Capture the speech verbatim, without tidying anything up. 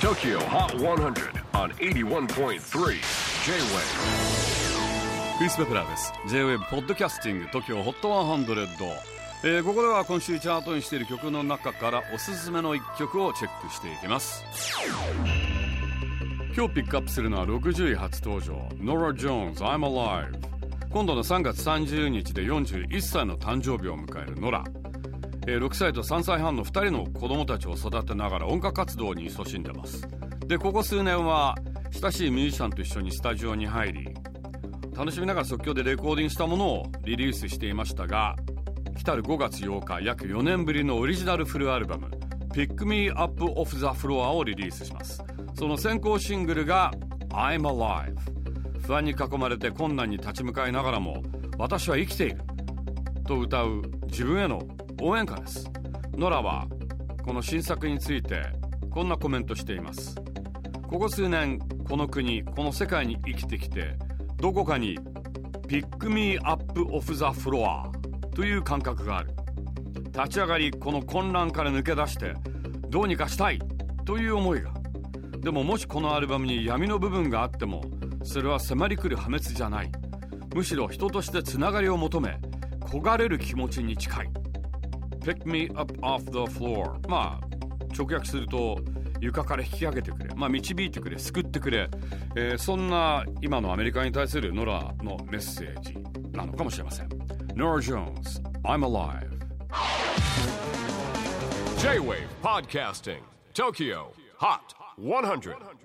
Tokyo Hot one hundred on エイティワンポイントスリー J-Wave。 クリス・ベプラーです。 J-Wave ポッドキャスティング Tokyo Hot ひゃく、えー、ここでは今週チャートにしている曲の中からおすすめのいっきょくをチェックしていきます。今日ピックアップするのはろくじゅうい初登場 Norah Jones I'm Alive。 今度のさんがつさんじゅうにちでよんじゅういっさいの誕生日を迎えるノラ、えー、ろくさいとさんさいはんのふたりの子供たちを育てながら音楽活動に勤しんでます。でここ数年は親しいミュージシャンと一緒にスタジオに入り、楽しみながら即興でレコーディングしたものをリリースしていましたが、来たるごがつようか約よねんぶりのオリジナルフルアルバム Pick Me Up Off the Floor をリリースします。その先行シングルが I'm Alive。 不安に囲まれて困難に立ち向かいながらも私は生きていると歌う自分への応援歌です。ノラはこの新作についてこんなコメントしています。ここ数年この国この世界に生きてきて、どこかに Pick Me Up Off the Floor という感覚がある。立ち上がりこの混乱から抜け出してどうにかしたいという思いが。でももしこのアルバムに闇の部分があってもそれは迫り来る破滅じゃない。むしろ人としてつながりを求め焦がれる気持ちに近い。 Pick me up off the floor、 まあ直訳すると床から引き上げてくれ、まあ、導いてくれ、救ってくれ、えー、そんな今のアメリカに対するノラのメッセージなのかもしれません。 Norah Jones I'm Alive。 J-Wave Podcasting Tokyo Hot ひゃく